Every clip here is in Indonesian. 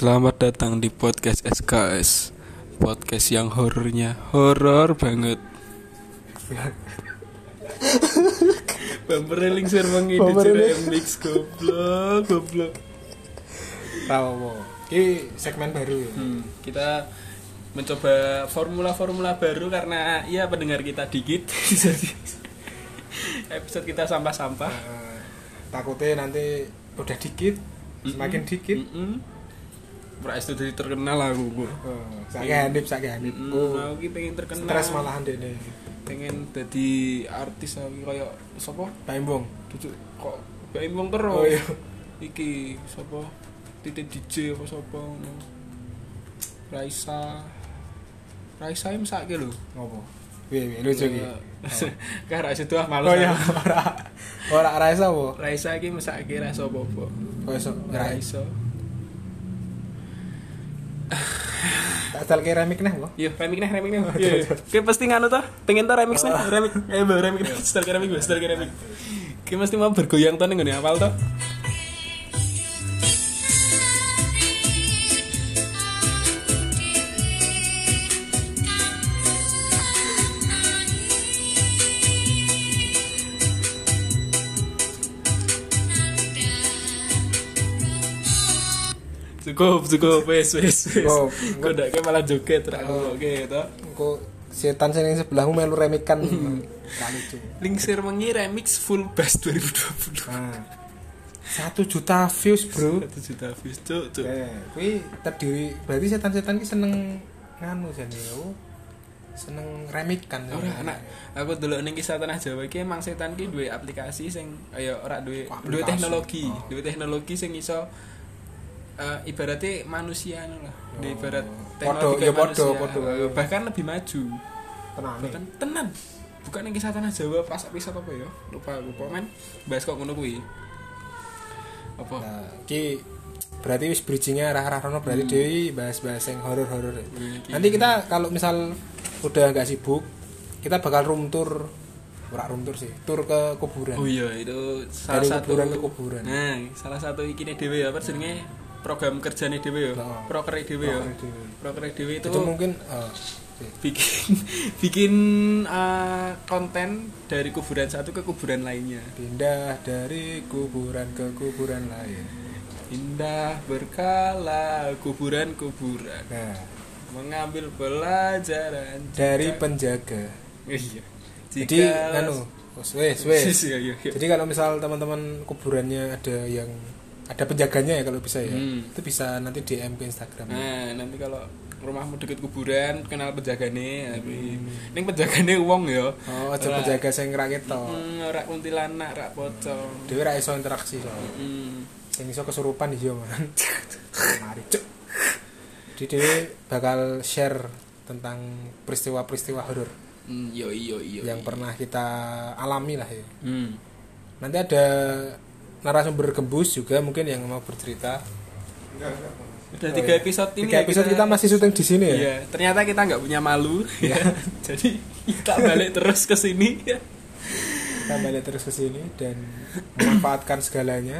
Selamat datang di podcast SKS. Podcast yang horornya horor banget. Bumper lingsir mengidit mix goblok. Tahu. Ini segmen baru ya. Kita mencoba formula baru karena ya pendengar kita dikit. Jadi episode kita sampah-sampah. Takutnya nanti udah dikit, semakin dikit. Ora itu jadi terkenal aku. Sakit handip. Aku ki pengen terkenal. Stres malahan dene. Pengen jadi artis aku kayak sapa? Paimbong. Kok Paimbong terus. Oh iya. Iki sapa? Titik DJ apa sapa ngono. Raisa yang sakit lho. Ngopo? Piye lucu iki. Karo Raisa tuh malu. Oh iya, ora Raisa apa? Raisa iki mesake Raisa apa-apa. Kok iso Raisa. Tak asal ke remix neh, Yo, remix neh. Yo. Oke pasti nganu toh, pengen toh remix neh, remix. Remix, style remix. Ki mesti mau bergoyang toh ning ngene awal toh. Cukup wes. Kok ndak ke malah joget ra oke to. Engko setan sing ning sebelahmu melu remikan. Lucu. Lingsir mengi remix full bass 2020. Nah. 1 juta views, Bro. 1 juta views, cuk. Kuwi terdiri berarti setan-setan ki seneng nganu jane yo. Seneng remikan. Ora anak. Aku delok ning kisah tanah Jawa iki emang setan ki duwe aplikasi sing kaya ora duwe teknologi, duwe teknologi sing iso ibaratnya manusia lah, ibarat teknologi manusia, bahkan lebih maju. Tenan. Bukan yang kisah tanah Jawa pas episode apa ya? Lupa men. Bahas kok ngono kuwi. Apa? Nah, ki berarti wis bridging-nya arah-arah rono berarti deui bahas-bahas yang horor-horor. Nanti kita kalau misal udah enggak sibuk, kita bakal room tour sih, tur ke kuburan. Oh iya, itu salah dari satu kuburan ke kuburan. Nah, salah satu ikine dhewe ya, apa jenenge? Program kerjane dhewe ya. Proker dhewe ya. Proker dhewe itu mungkin bikin konten dari kuburan satu ke kuburan lainnya. Pindah dari kuburan ke kuburan lain. Pindah berkala kuburan. Nah, mengambil pelajaran dari penjaga. Iya. Jadi wes. Iya. Jadi kalau misal teman-teman kuburannya ada penjaganya ya kalau bisa ya. Itu bisa nanti DM ke Instagram. Nah, nanti kalau rumahmu deket kuburan, kenal penjagane. Ning penjagane wong ya. Oh, aja penjaga sing ra ketok. Ora kuntilanak, ra pocong. Dhewe ra iso interaksi so. Sing iso kesurupan iya man. Mari cuk. Jadi dhewe bakal share tentang peristiwa-peristiwa horor. Iya. Yang pernah kita alami lah ya. Nanti ada narasumber gembus juga mungkin yang mau bercerita. Udah 3 episode ini. 3 episode kita masih syuting di sini ya. Iya, ternyata kita nggak punya malu. Ya. Jadi kita balik terus ke sini. Kita balik terus ke sini dan memanfaatkan segalanya.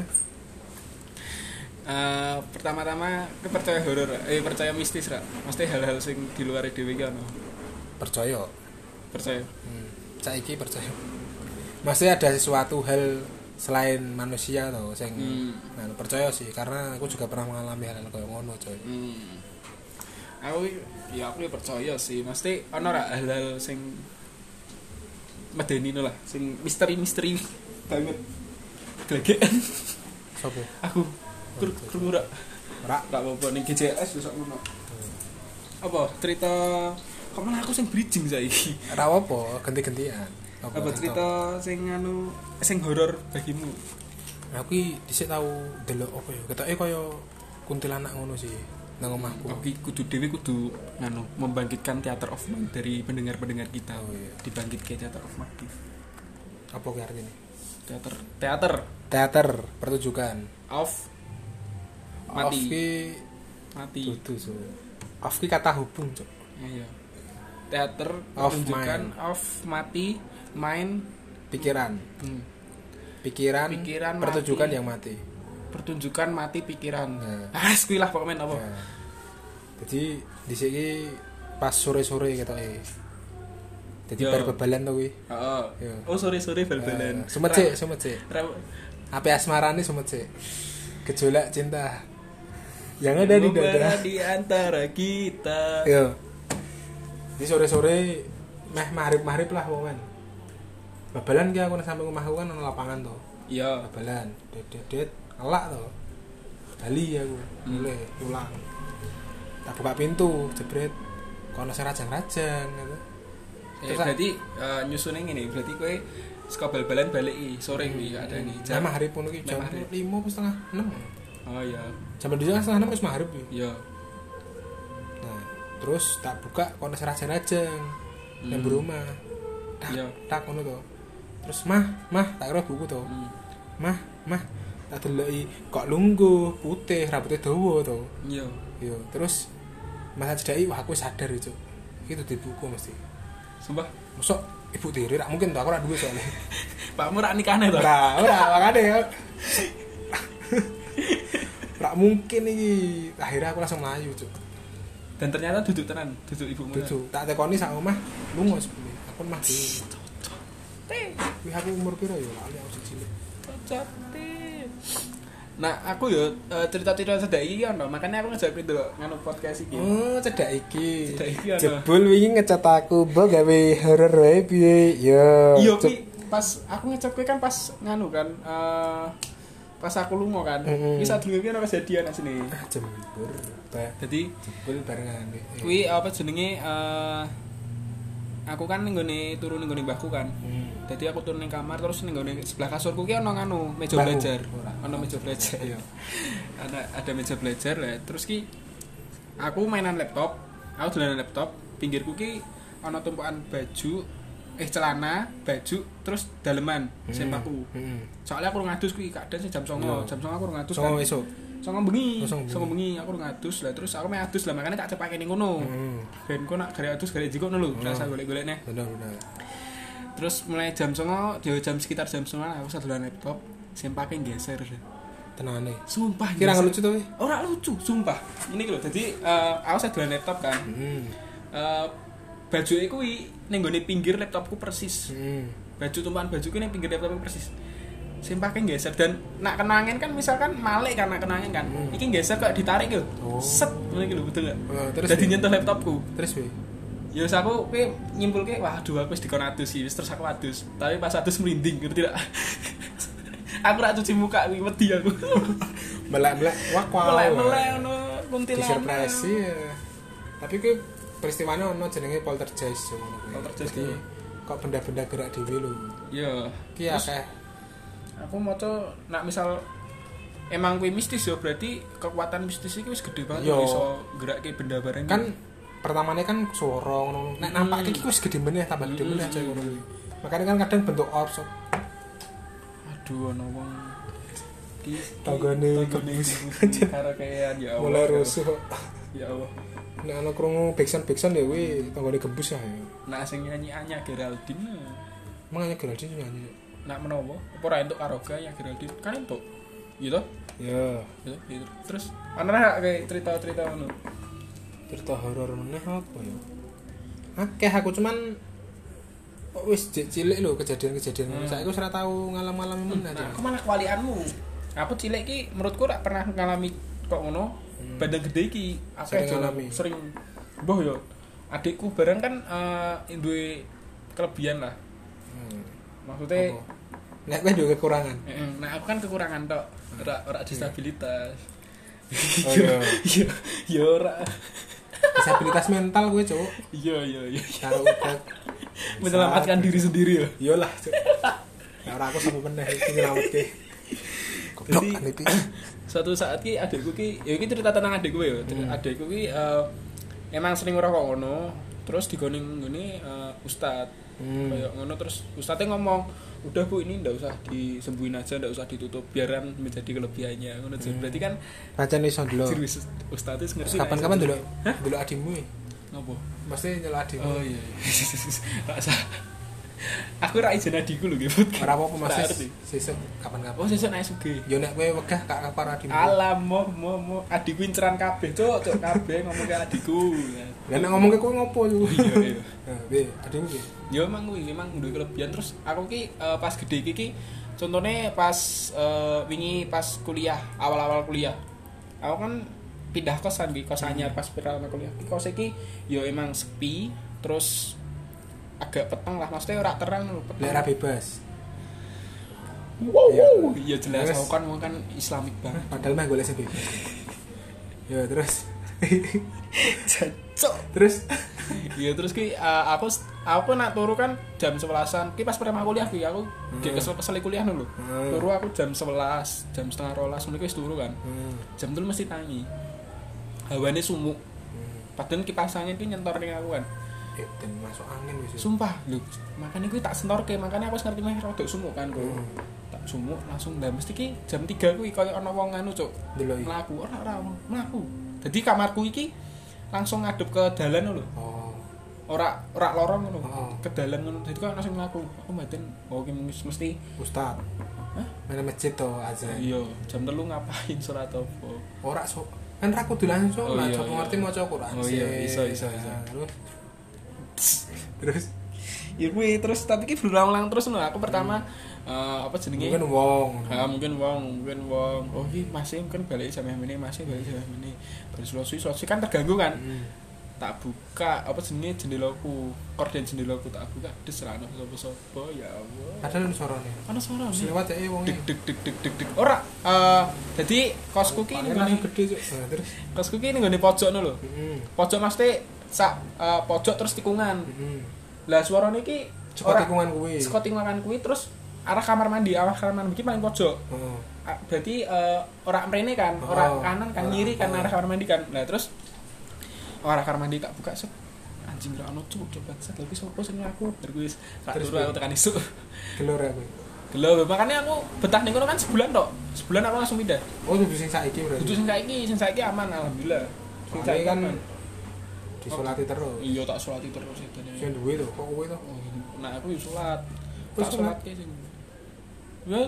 Pertama-tama percaya horor, percaya mistis ra. Mesti hal-hal sing di luar dhewe iki ono. Percaya. Saiki percaya. Masih ada sesuatu hal selain manusia toh sing percaya sih karena aku juga pernah mengalami hal kayak ngono coy. Aku percaya sih, mesti ono ra hal-hal sing medeni lah, sing misteri banget. Glegekan. Sopo? Aku krungu ra. Ra apa-apa ning GCS besok ngono. Apa cerita kemana aku sing bridging saiki? Ra apa, ganti-gantian. Apa cerita sing horor bagimu? Aku iki dhisik tau delok apa ya? Ketoke kaya kuntilanak ngono sih nang omahku. Oke, kudu membangkitkan theater of mind dari pendengar-pendengar kita. Oh, iya. Dibangkitkan theater of mind. Apa ki artine? Teater pertunjukan. Of mati. Dudu so. Of ki kata hubung, Cuk. Iya. Teater pertunjukan of mati, main pikiran pertunjukan yang mati. pertunjukan mati pikiran. Kuwi lah pokoknya apa. Jadi dhisik iki pas sore-sore ketoke. Dadi bal-balan to kuwi. Heeh. Oh sore-sore bal-balan. Sumet sik. Ape asmarane sumet sik. Gejolak cinta yang ada di dada di antara kita. Yo. Di sore-sore meh maghrib lah momen. Babalan ki aku sampe omahku kan ono lapangan to. Iya, babalan. Dedet elak to. Bali aku mulai pulang. Tak buka pintu, jebret. Kono serajang-rajang gitu. Berarti nyusune ngene, berarti kowe saka bal-balan balik sore kuwi adane. Jam maghrib ngono ki jam 5 setengah 6. Oh iya. Jam 2 setengah 6 wis maghrib ki. Iya. Nah, terus tak buka kono serajang-rajang. Yang berumah. Tak ngono to. Terus mah tak kira buku to. Mah tak deloki kok lungguh, putih, rambutnya dawa to. Iya. Iya, terus Mas Cedai wah aku sadar itu. Itu di buku mesti. Sumpah, mosok ibu tiri rak mungkin to aku ora duwe soalnya. Pakmu rak nikahne to? Ora makane ya. Rak mungkin iki. Akhirnya aku langsung mlayu, Cuk. Dan ternyata duduk tenan, duduk ibumu. Duduk. Tak tekoni sak omah lunga sepune. Aku mah dhewe. Kuwi aku umur piro ya? Lali aku cilik. Cocok. Nah, aku yo cerita-cerita cedak iki ono, makanya aku ngejak itu nganu podcast iki. Oh, cedak iki. Ono. Jebul wingi ngecat aku, "Mbok gawe horor wae piye?" Yo. Iya, pas aku ngecap kowe kan pas nganu kan pas aku lunga kan. Iki sadurunge ono kejadian asine. Jembur. Dadi jebul barengan. Kuwi apa jenenge aku kan ning gone turu ning gone mbahku kan. Jadi aku turun ning kamar terus ning gone sebelah kasurku ki ono nganu meja belajar. Ono meja belajar. Iya. Ada meja belajar lah. Terus ki aku mainan laptop. Aku dolanan laptop, pinggirku ki ono tumpukan baju, celana, baju, terus daleman sempaku. Soalnya aku ngadus kuwi kadang jam 09.00. Jam 09.00 aku ngadus kan. Esuk. 09.00 bengi aku ngadus lah terus aku ngadus lah makanya tak cepake ning ngono. Ben kok nak gare adus gare jiko ngono lho, rasa golek-golekne. Bener. Terus mulai jam 09.00, jam sekitar jam 09.00 aku sadulan laptop, sempake geser. Tenane. Sumpah. Kira lucu to? Ora lucu, sumpah. Ini lho, dadi aku sadulan laptop kan. Baju iku ning gone pinggir laptopku persis. Baju tumpukan bajuku ning pinggir laptopku persis. Sempake geser dan nak kenangan kan misalkan malik kan nak kenangan kan. Iki geser kok ditarik lho. Set ngene iki lho betul enggak? Terus dadi nyentuh laptopku. Terus piye? Ya aku nyimpulke waduh aku wis dikon adus iki terus aku adus. Tapi pas adus merinding ngerti tidak? Aku ora cuci muka kuwi wedi aku. Melek-melek wah melek ono kuntilanak. Disurprise ya. Tapi kuwi peristiwane ono jenenge poltergeist ngono kuwi. Poltergeist. Kok benda-benda gerak dhewe lho. Iya. Ki akeh. Aku maca nak misal emang kuwi mistis ya berarti kekuatan mistis iki wis gede banget iso gerakke benda bareng. Kan pertamane kan suara ngono. Nek nampake iki wis gede meneh tambah gede meneh aja ngono kuwi. Makane kan kadang bentuk orbs. Aduh ono wong iki tanggane kebus karo kayak ya Allah. Mulai rusuh. Ya Allah. Nek ana krungu backsound ya kuwi tanggane kebus ya. Nah sing nyanyi Anya Geraldine. Mangane Geraldine nyanyi. Nak menowo apa ora entuk karaoke ya Geraldine kan entuk gitu ya gitu terus ana kayak cerita-cerita ngono cerita horor meneh apa ya akeh aku cuman wis cilik lho kejadian-kejadian ngono saiki wis ora tau ngalami meneh aku malah kewalianmu aku cilik ki menurutku ora pernah ngalami kok ngono badan gede iki akeh sering mbah yo adikku bareng kan duwe kelebihan lah maksudnya nek kowe duwe kekurangan. Nah aku kan kekurangan tok, ora disabilitas. Oh iya. Iya ora. Disabilitas mental kowe, Cuk. Iya. Karo udah menyelamatkan diri sendiri ya. Iyalah, Cuk. Nek ora aku sampe meneh iki nyelametke. Goblok iki. Suatu saat ki adikku ki, ya iki cerita tentang adikku ya. Adikku ki emang sering ngerokok ngono, terus digoning ngene ustad. Kayak ngono terus ustadnya ngomong udah bu ini ndak usah disembuhin aja ndak usah ditutup biaran menjadi kelebihannya ngono berarti kan pancen iso dulu ustadnya ngerti kapan-kapan dulu dulu adikmu ngopo mesti nyelok adikmu oh iya tak sah Aku ra izin adikku lho nggih podcast. Ora apa-apa Mas. Sesuk kapan-kapan. Oh, sesuk nek sugih. Yo nek kowe wegah kak karo adikmu. Alam mo adikku inceran kabeh, cuk kabeh ngomong ke adikku. Lah nek ngomong ke kowe ngopo yo? Iya. Nah, piye adikmu piye? Ya emang kuwi memang duwe kelebihan terus aku ki pas gede iki contohnya pas wingi pas kuliah, awal-awal kuliah. Aku kan pindah kosan di kos anyar pas pertama kuliah. Kos iki ya emang sepi, terus agak peteng lah, maksudnya ora terang lho, peteng. Daerah bebas. Wow, iya jelas aku kan Islamik banget. Padahal mah golek sing bebas. Ya terus. Cocok. Terus iya terus ki aku nak turu kan jam 11-an. Ki pas pertama kuliah ki aku gek kesel kuliah dulu. Turu aku jam 11, jam setengah 12 meneh wis turu kan. Jam 3 mesti tangi. Hawane sumuk. Padahal kipas angin ki nyentor ning aku kan. dan masuk angin wis. Sumpah lho, makanya kuwi tak sentorke, makanya aku ngerti meh rodok sumuk kan kok. Tak sumuk langsung lah mesti ki jam 3 kuwi koyo ana wong anu cuk. Mlaku ora mlaku. Dadi kamarku iki langsung ngadep ke dalan lho. Oh. Ora lorong ngono. Ke dalan ngono. Dadi kok langsung mlaku. Aku mbaten oh ki mesti ustaz. Hah? Mana masjid to azan. Iya, jam 3 ngapain salat apa? Ora sok kan ra kudu langsung lah, sok ngerti maca Quran. Oh iya, iso. Terus ya kuwi terus tapi ki berulang-ulang terus lho. Aku pertama apa jenenge? Mungkin wong. Oh iki masih mungkin balik jam ini, masih balik jam ini. Baru selesai kan terganggu kan. Tak buka apa jenenge jendelaku, korden jendelaku tak buka des ra ono sapa-sapa ya Allah. Padahal ono sorone. Ono sorone. Lewat ya wong. Deg. Ora dadi kosku ki ngene gede cuk. Terus kosku ki ning gone pojok ngono lho. Pojok mesti sak pojok terus tikungan. Lah suarane iki saka tikungan kuwi. Saka tikungan kuwi terus arah kamar mandi iki paling pojok. Berarti ora mrene kan, ora kanan kan kiri kan arah kamar mandi kan. Lah terus arah kamar mandi tak buka set. Anjing ra ono cuk coba set lagi sopo sing aku bar kuwi tak turu aku tekan isuk. Gelor aku. Gelor makane aku betah ning kono kan sebulan tok. Sebulan aku langsung pindah. Oh dudu sing saiki berarti. Dudu sing saiki aman alhamdulillah. Sing saiki kan disolati terus. Iya tak solati terus itu. Sing duwe to, kok kowe to? Nah aku yo salat. Wis salat ki sing. Ya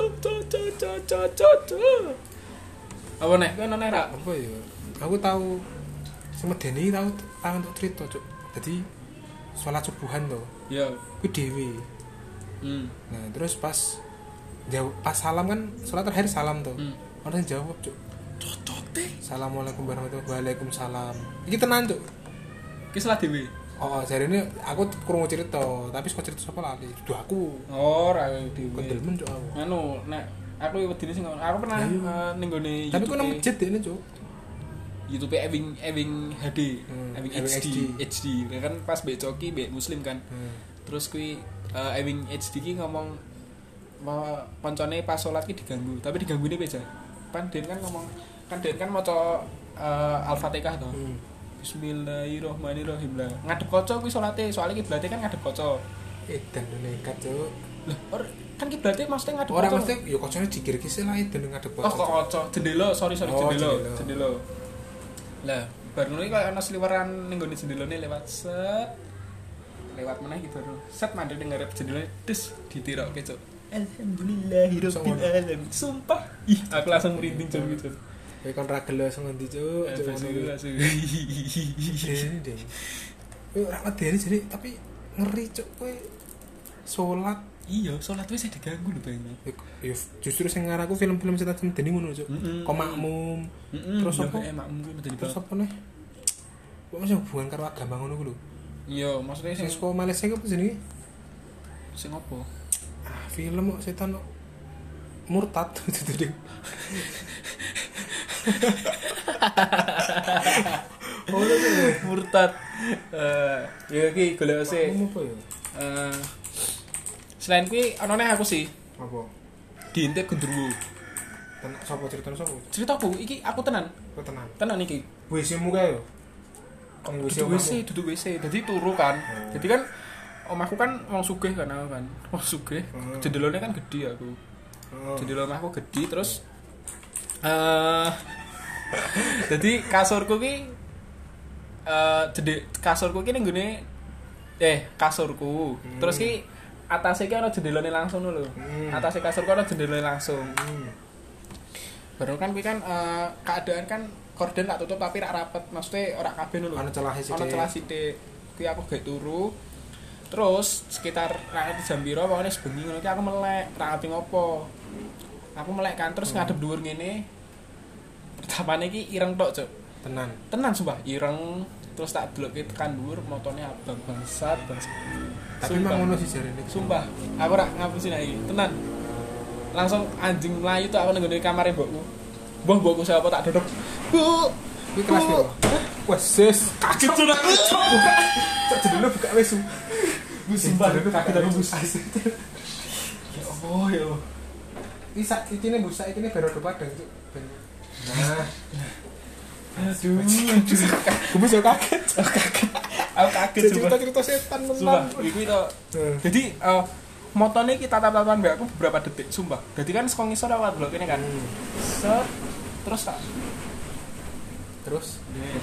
apa nek kowe ana ra? Apa ya? Aku tahu semedeni tahu untuk cerita cuk. Jadi sholat subuhan to. Ya. Kuwi dhewe. Nah, terus pas salam kan sholat terakhir salam to. Orang jawab cuk. Cocote. Assalamualaikum warahmatullahi wabarakatuh. Waalaikumsalam. Iki tenan cuk. Ki salat dhewe. Oh, jarine aku krungu cerita, tapi kok cerita sapa lali. Duh aku. Oh, ra dhewe. Kendelmen cuk aku. Anu, nek aku wedine sing aku pernah ning gone tapi kok nang masjid dene cuk. YouTube Ewing HD, Ewing HD. Kan pas mbek Coki mbek Muslim kan. Terus kuwi Ewing HD ki ngomong koncone pas salat ki diganggu, tapi diganggune beja. Pan Den kan ngomong, kan Den kan maca Al-Fatihah to. Bismillahirrahmanirrahim lah. Ngadep kaca kuwi salate, soalnya kiblate kan ngadep kaca. Dan nekat cuk. Lah, kan kiblate maksudnya ngadep kaca. Ora mesti ya kacane dikir-kir lah dan ngadep kaca. Oh, kok kaca. Jendela, sorry jendela. Lah, bar ngono iki koyo ana sliweran ning gone jendelane lewat meneh iki baru. Set mandek ning ngarep jendelane des ditirokke cuk. Alhamdulillahirabbil alamin. Sumpah. Ih, aku langsung merinding cuk gitu. Kowe kon ra gelo langsung ngendi cuk. Langsung. Ding. Kowe ora medeni jadi tapi ngeri cuk kowe salat. Iya, salat wis diganggu lho Bang. Ya justru sing ngaraku film-film setan medeni ngono cuk. Kok makmum. Terus apa? Makmum kuwi medeni. Terus apa nih? Kok masih hubungan karo agama ngono ku lho. Iya, maksudnya sing saka Malaysia apa jenenge? Sing apa? Film kok setan murtad itu deh. Murtad. Ya iki golek sih. Apa ya? Selain kuwi ana neh aku sih. Apa? Diintip gendruwo. Tenan sapa ceritane sapa? Ceritaku iki aku tenan. Kok tenan? Tenan iki. WC-mu kae yo. Duduk WC. Jadi turu kan. Jadi kan omahku kan wong sugih kan aku kan. Wong sugih. Jendelane kan gede aku. Jendela omahku gede terus jadi kasurku ki kasurku ki ning gone kasurku. Terus ki atase iki ana jendelane langsung lho. Atase kasur ku ana jendelane langsung. Baru kan kuwi kan keadaan kan korden tak tutup tapi rak rapet. Maksudnya ora kabeh lho. Ana celah sithik. Ana celah sithik. Kuwi aku gak turu. Terus sekitar ra jam piro pokoknya sebengi ngono iki aku melek, ra ngerti ngopo. Aku melek kan terus ngadep dhuwur ngene. Pertamane iki ireng tok, Cuk. Tenan sumpah, ireng. Terus tak delokke tekan dhuwur motone abang bangsat. Tapi memang ngono sih jarene. Sumpah, aku ora ngapusi nek iki. Tenan. Langsung anjing mlayu tok aku nang ngene kamare mbokku. Mbokku siapa tak dodok. Bu, kuwi kelas piro? Wes sis, kaget tuh aku. Buka. Cok jendela buka wes. Sumpah kaget aku bus. Ya Allah, ya Allah. Iki ne busa iki ne baru padang, Cuk. Nah. Aduh, gue bisa kaget. Aku kaget cerita setan tenan. Sumpah, iki to. Jadi motone kita tatap-tatapan mbak aku beberapa detik, sumpah. Jadi kan saka ngisor awak blok ini kan. Set terus tak. Terus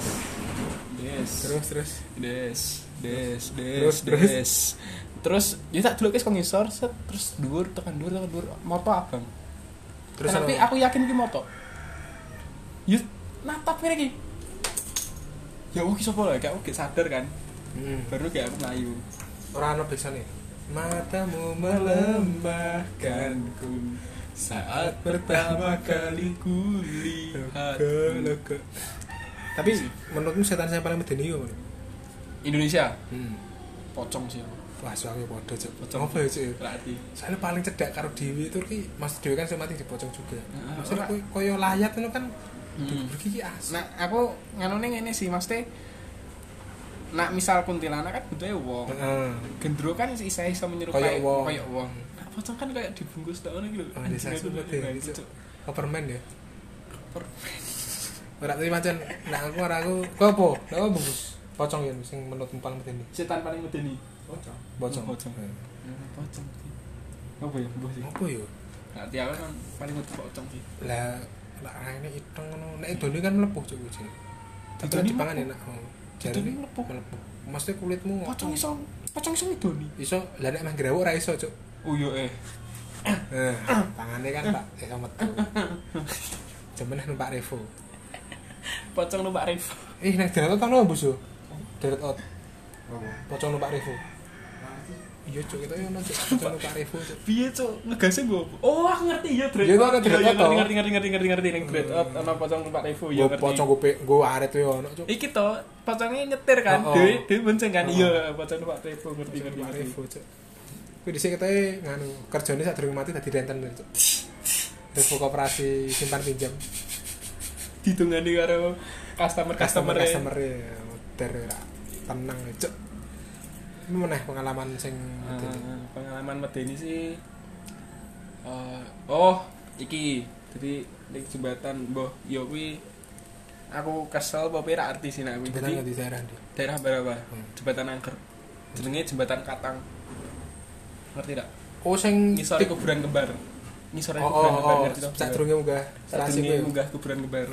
Terus ya tak deloke saka ngisor set terus dhuwur tekan dhuwur moto abang. Terus tapi aku yakin iki moto. Yus natap ngene iki. Ya iki sapa lho, aku gak sadar kan. Baru kayak aku mlayu. Ora ono biasane. Matamu melemahkanku saat pertama kali kulihat. Tapi menurutmu setan yang paling medeni yo? Indonesia. Pocong sih. Wah, soalnya podo, Cuk. Pocong apa ya, Cuk? Berarti. Soalnya paling cedak karo Dewi itu ki, Mas Dewi kan semati dipocong juga. Maksudnya koyo layat ngono kan. Iki as. Nah, aku nganone ngene sih, Mas Teh. Nak misal kuntilanak kan bentuke wong. Gendro kan iso menyerupai koyo wong. Nah, pocong kan kayak dibungkus tok ngono iki lho. Desa Sumut ya. Permen ya. Permen. Ora tadi macam nah aku apa? Lah bungkus pocong ya sing menurutmu paling medeni. Setan paling medeni. Pocong. Pocong. Apa ya? Apa ya? Nanti aku kan paling medeni pocong sih. Lah raine iteng ngono. Nek idone kan mlepuh Cuk kuwi. Tapi dipangan enak. Jarine mlepuh. Maksudnya kulitmu pocong iso idoni. Iso lah nek mah grawuk ora iso, Cuk. Oh yo Tangane kan Pak iso metu. Jemeneh numpak Revo. Pocong numpak Revo. Nek deret ono bus yo. Deret out. Pocong numpak Revo. Iya Cuk, kita yo ono pocong numpak Revo, Cuk. Piye Cuk? Ngegase nggo. Oh, aku ngerti ya deret. Ya ngerti ning deret out ono pocong numpak Revo ya ngerti. Pocong go aret yo ono, Cuk. Iki to, pocongnya nyetir kan. Dewe bonceng kan. Iya, pocong numpak Revo ngerti. Revo, Cuk. Kuwi dhisik kita nganu kerjane sak durung mati dadi renten, Cuk. Revo koperasi simpan pinjam. Ditungani karo customer der ora tenang Cuk. Ini meneh pengalaman sing pengalaman medeni sih iki jadi di jembatan mbah ya kuwi aku kesel apa ora arti sih nek kuwi di daerah berapa jembatan Angker jenenge jembatan Katang ngerti tak sing ngisore kuburan kembar ngisore kuburan kembar ngerti to sak durunge munggah kuburan kembar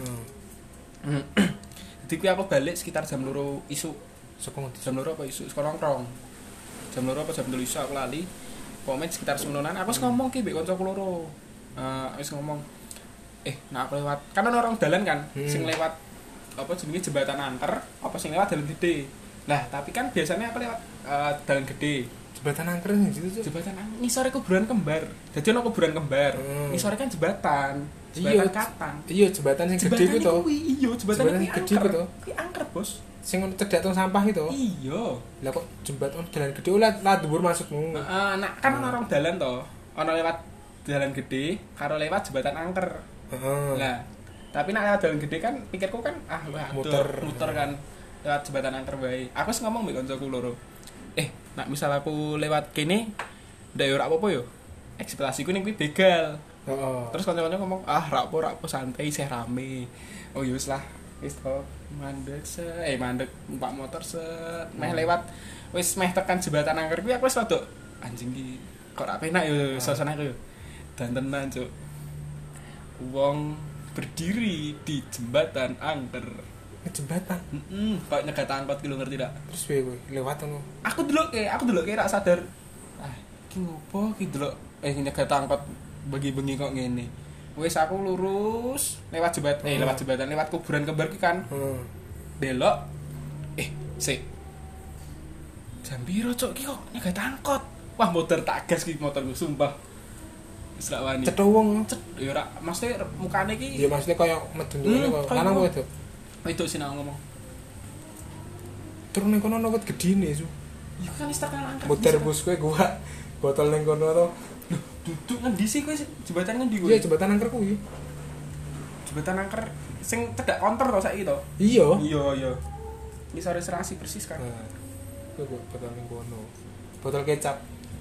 jadi kuwi aku balik sekitar jam 2 isuk jam 2 apa isuk sekarang jam 2 apa jam 3 isuk aku lali pokoknya sekitar semenonan aku ngomong ki mbek kancaku loro wis ngomong nah aku lewat kan ana orang dalan kan sing lewat apa jenenge jembatan Angker apa sing lewat dalan gede lah tapi kan biasanya aku lewat dalan gede jembatan Angker gitu Cuk. Jembatan ngisore kuburan kembar dadi ana kuburan kembar ngisore kan jembatan Katang iya jembatan sing gede ku to iya jembatan gede ku to kuwi angker bos sing cedhak tong sampah itu iya lah kok jembatan dalan gede lah dhuwur masukmu nah kan ana orang dalan to ana lewat dalan gede karo lewat jembatan Angker lah tapi nek lewat dalan gede kan pikirku kan muter kan lewat jembatan Angker wae aku wis ngomong mbek kancaku loro nek misal aku lewat kene ndak yo ora apa-apa yo ekspektasiku ning kuwi begal. Terus kanca-kanca ngomong, ra apa santai isih rame. Oh ya wis lah, wis to mandek numpak motor meh lewat wis meh tekan jembatan Angker kuwi aku wis rada anjing iki kok ra penak yo suasana ku yo. Dan tenan Cuk. Wong berdiri di jembatan Angker. Jembatan. Kok nyegat angkot ki lho ngerti tak? Terus piye kowe lewat ngono? Aku deloke ra sadar. Ki ngopo ki delok nyegat angkot bengi-bengi kok ngene. Wis aku lurus lewat jembatan, lewat kuburan kembar ki kan. Delok sik. Jam piro cuk ki kok nyegat angkot. Wah motor tak gas ki motorku sumpah. Wis ra wani. Cetho wong. Ya ora mesti mukane ki. Ya maksudnya koyo medun ngene kok. Lanang kok itu. Itu sih nang ngomong. Terus ning kono ono wit gedine su. Ya kan wis terkenal angkat. Muter bus kowe gua botol ning kono to. Duduk ngendi sih kowe jembatan ngendi kowe? Iya jembatan angker kuwi. Jembatan angker sing cedak konter to saiki to. Iya. Iya. Ini sore serasi persis kan. Kowe botol ning kono. Botol kecap.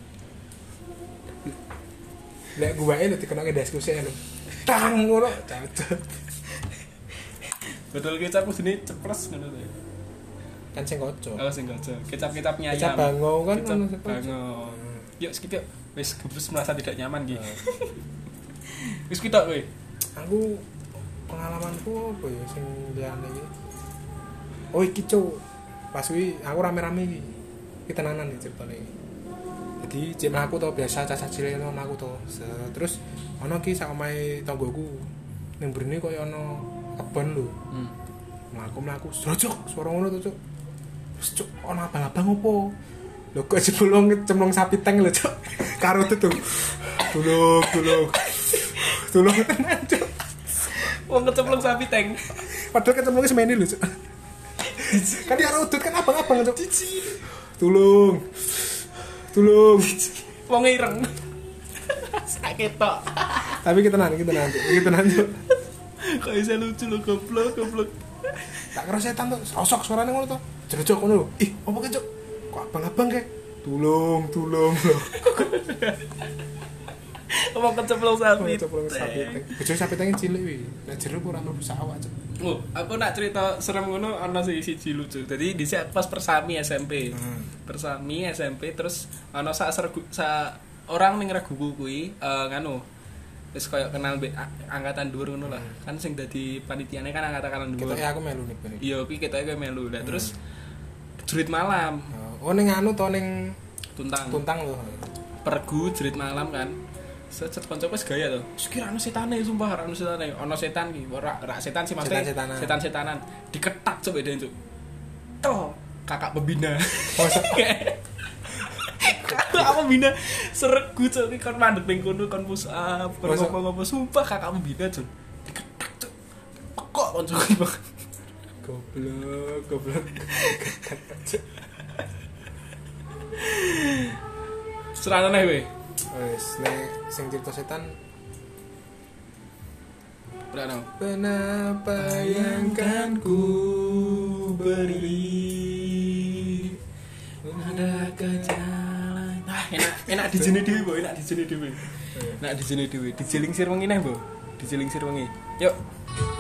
Lek guwae nek dikenake diskusi lho. Tang ngono cacat. Botol kecap kudune ceples ngono to. Kan sing kocok. Oh sing kocok. Kecap-kecapnya ayam. Kecap bango kan kecap ono bango. Yuk skip yuk. Wis gebus merasa tidak nyaman iki. Wis kita kowe. Aku pengalamanku apa ya sing liyane iki. Oh iki cuk. Pas kuwi aku rame-rame iki. Iki tenanan iki ceritane iki. Jadi cek mlaku to biasa caca cilik ono mlaku to. Terus ono ki sak omahe tanggoku. Ning mrene koyo ono kebon lho. Mlaku-mlaku srojok suara ngono to cuk. Terus cuk ono abang-abang opo? Lho kok cemplung sapi teng lho cuk. Karo tuh. Tulung tenan cuk. Wong kecemplung sapi teng. Padahal kecemplungnya semene lho cuk. Kan dia udut kan abang-abang cuk. Tulung. Wong ireng. Sakit tok. Tapi kita tenan cuk. Kok bisa lucu lo goblok. Tak kira setan tuh, sosok suaranya ngono tuh. Jerojok ngono lho. Ih, apa ke cuk? Kok abang-abang kek? Tulung lho. Wong kecemplung sapi. Bojone sapi teng cilik wi. Nek jero ora mlebu awak cuk. Oh, aku nak cerita serem ngono ana siji lucu. Jadi dhisik pas persami SMP. Persami SMP terus ana sak orang ning reguku kuwi nganu wis koyo kenal angkatan dhuwur ngono lah. Kan sing dadi panitiane kan angkatan dhuwur. Ketoke aku melu nih. Iya, kuwi ketoke kowe melu. Lah terus jurit malam. Oh ning anu to ning Tuntang lho. Pergu jurit malam kan. Secet kancaku wis gaya to. Sekira ana setane sumpah, ana setane. Ana setan iki, ora setan sih maksudnya. Setan-setanan. Diketak coba den cuk. Toh, kakak pembina. Kakak pembina seregu cuk iki kon mandek ning kono kon push up, kon ngomong apa sumpah kakak pembina cuk. Diketak cuk. Pekok kancaku. Goblok. Serana we. Wes nek sing cerita setan Berano. Kenapa yang kan ku beri ada ke jalan. Enak di sini dhewe, Bo, enak di sini dhewe. Enak di sini dhewe. Dijelingsir wengi neh, Bo. Dijelingsir wengi. Yuk.